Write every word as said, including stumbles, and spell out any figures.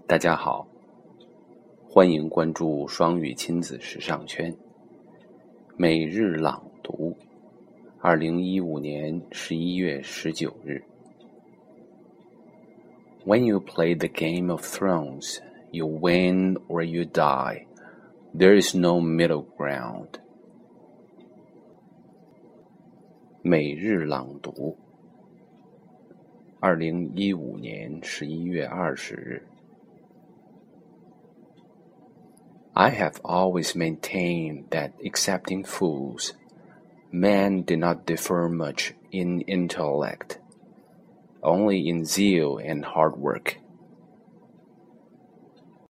大家好，欢迎关注双语亲子时尚圈。每日朗读，二零一五年十一月十九日。When you play the game of thrones, you win or you die. There is no middle ground. 每日朗读，二零一五年十一月二十日。I have always maintained that, excepting fools, men do not differ much in intellect, only in zeal and hard work.